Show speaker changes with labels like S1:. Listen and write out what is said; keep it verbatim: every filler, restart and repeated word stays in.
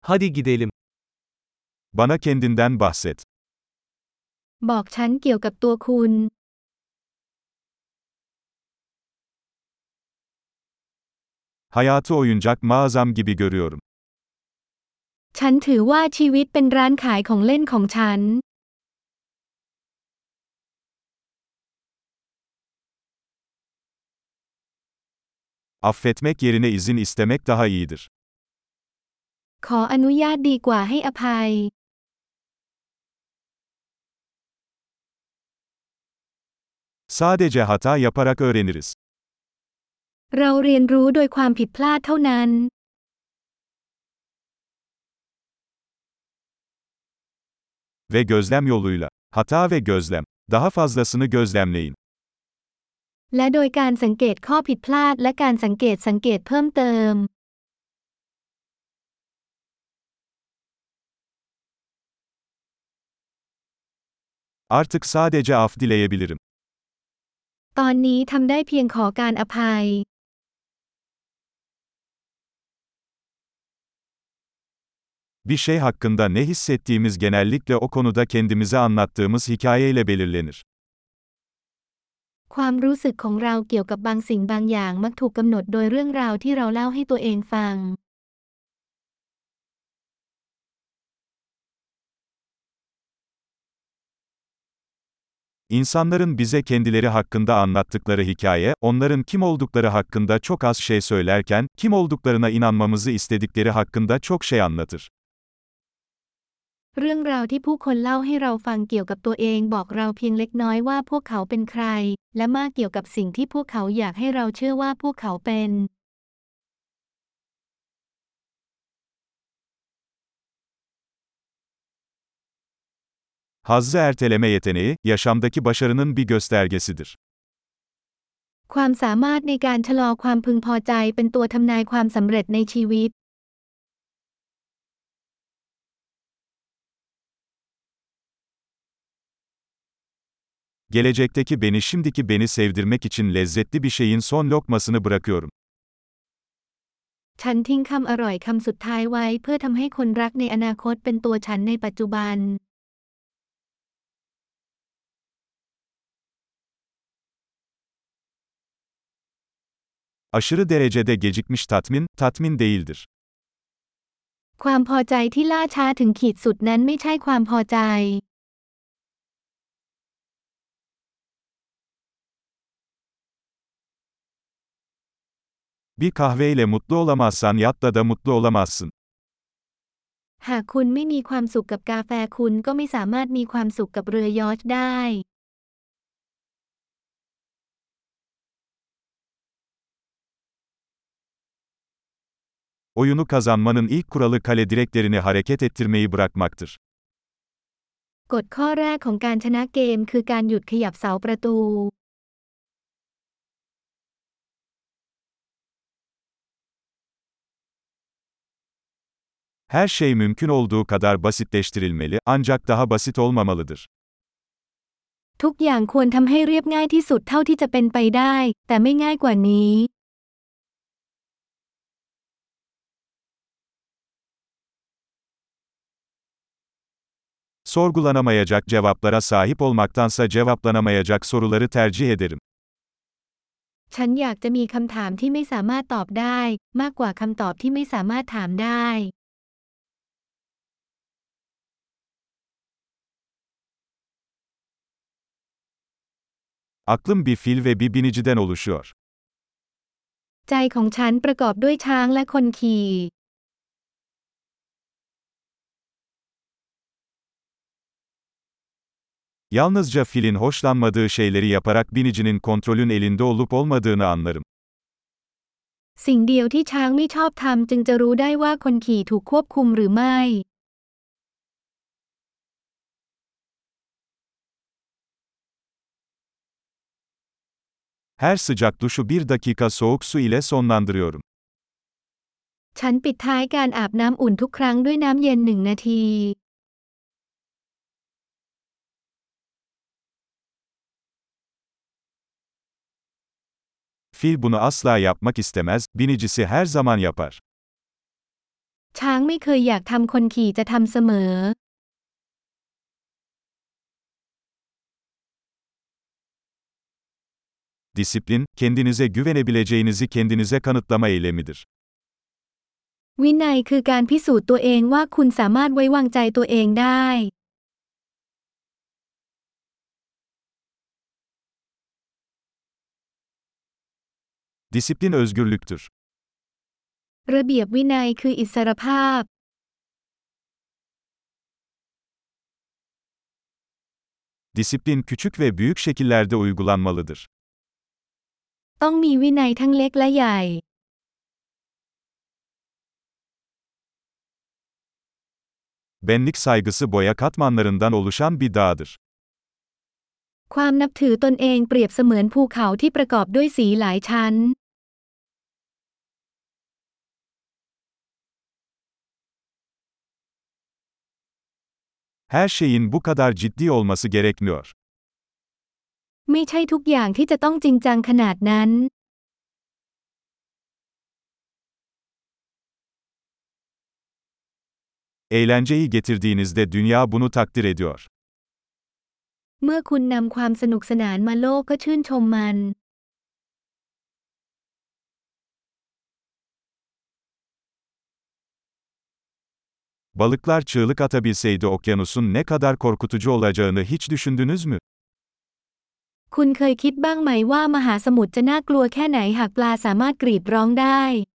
S1: Hadi gidelim.
S2: Bana kendinden bahset.
S3: บอกฉันเกี่ยวกับตัวคุณ
S2: Hayatı oyuncak mağazam gibi görüyorum.
S3: ฉันถือว่าชีวิตเป็นร้านขายของเล่นของฉัน
S2: Affetmek yerine izin istemek daha iyidir.
S3: ขออนุญาตดีกว่าให้อภัย
S2: Sadece hata yaparak öğreniriz.
S3: เราเรียนรู้โดยความผิดพลาดเท่านั้น
S2: Ve gözlem yoluyla. Hata ve gözlem. Daha fazlasını gözlemleyin.
S3: และโดยการสังเกตข้อผิดพลาดและการสังเกตสังเกตเพิ่มเติม
S2: Artık sadece af dileyebilirim.
S3: ตอนนี้ทำได้เพียงขอการอภัย
S2: Bir şey hakkında ne hissettiğimiz genellikle o konuda kendimize anlattığımız hikayeyle belirlenir.
S3: ความรู้สึกของเราเกี่ยวกับบางสิ่งบางอย่างมักถูกกำหนดโดยเรื่องราวที่เราเล่าให้ตัวเองฟัง
S2: İnsanların bize kendileri hakkında anlattıkları hikaye, onların kim oldukları hakkında çok az şey söylerken, kim olduklarına inanmamızı istedikleri hakkında çok şey anlatır.
S3: เรื่องราวที่ผู้คนเล่าให้เราฟังเกี่ยวกับตัวเองบอกเราเพียงเล็กน้อยว่าพวกเขาเป็นใคร และมากเกี่ยวกับสิ่งที่พวกเขาอยากให้เราเชื่อว่าพวกเขาเป็น
S2: Hazzı erteleme yeteneği, yaşamdaki başarının bir göstergesidir.
S3: ความสามารถในการชะลอความพึงพอใจเป็นตัวทำนายความสำเร็จในชีวิต
S2: Gelecekteki beni şimdiki beni sevdirmek için lezzetli bir şeyin son lokmasını bırakıyorum.
S3: ฉันทิ้งคำอร่อยคำสุดท้ายไว้เพื่อทำให้คนรักในอนาคตเป็นตัวฉันในปัจจุบัน
S2: Aşırı derecede gecikmiş tatmin, tatmin değildir.
S3: ความพอใจที่ล่าช้าถึงขีดสุดนั้นไม่ใช่ความพอใจ
S2: Bir kahveyle mutlu olamazsan yatta da mutlu olamazsın.
S3: หากคุณไม่มีความสุขกับกาแฟคุณก็ไม่สามารถมีความสุขกับเรือยอชท์ได้
S2: Oyunu kazanmanın ilk kuralı kale direklerini hareket ettirmeyi bırakmaktır.
S3: กฎข้อแรกของการชนะเกมคือการหยุดขยับเสาประตู
S2: Her şey mümkün olduğu kadar basitleştirilmeli, ancak daha basit olmamalıdır.
S3: ทุกอย่างควรทำให้เรียบง่ายที่สุดเท่าที่จะเป็นไปได้ แต่ไม่ง่ายกว่านี้
S2: Sorgulanamayacak cevaplara sahip olmaktansa cevaplanamayacak soruları tercih ederim.
S3: ฉันอยากจะมีคำถามที่ไม่สามารถตอบได้ มากกว่าคำตอบที่ไม่สามารถถามได้
S2: Aklım bir fil ve bir biniciden oluşuyor.
S3: ใจของฉันประกอบด้วยช้างและคนขี่
S2: Yalnızca filin hoşlanmadığı şeyleri yaparak binicinin kontrolün elinde olup olmadığını anlarım.
S3: สิ่งเดียวที่ช้างไม่ชอบทำจึงจะรู้ได้ว่าคนขี่ถูกควบคุมหรือไม่
S2: Her sıcak duşu bir dakika soğuk su ile sonlandırıyorum.
S3: ฉันปิดท้ายการอาบน้ำอุ่นทุกครั้งด้วยน้ำเย็นหนึ่งนาที
S2: Fil bunu asla yapmak istemez, binicisi her zaman yapar.
S3: ช้างไม่เคยอยากทำคนขี่จะทำเสมอ
S2: Disiplin, kendinize güvenebileceğinizi kendinize kanıtlama eylemidir.
S3: วินัยคือการพิสูจน์ตัวเองว่าคุณสามารถไว้วางใจตัวเองได้
S2: Disiplin özgürlüktür.
S3: ระเบียบวินัยคืออิสรภาพ
S2: Disiplin küçük ve büyük şekillerde uygulanmalıdır.
S3: ต้องมีวินัยทั้งเล็กและใหญ่
S2: Benlik saygısı boya katmanlarından oluşan bir dağdır.
S3: ความนับถือตนเองเปรียบเสมือนภูเขาที่ประกอบด้วยสีหลายชั้น
S2: Her şeyin bu kadar ciddi olması gerekmiyor.
S3: ไม่ใช่ทุกอย่างที่จะต้องจริงจังขนาดนั้น
S2: Eğlenceyi getirdiğinizde dünya bunu takdir ediyor.
S3: เมื่อคุณนำความสนุกสนานมาโลกก็ชื่นชมมัน
S2: Balıklar çığlık atabilseydi okyanusun ne kadar korkutucu olacağını hiç düşündünüz mü?
S3: คุณเคยคิดบ้างไหมว่ามหาสมุทรจะน่ากลัวแค่ไหนหากปลาสามารถกรีดร้องได้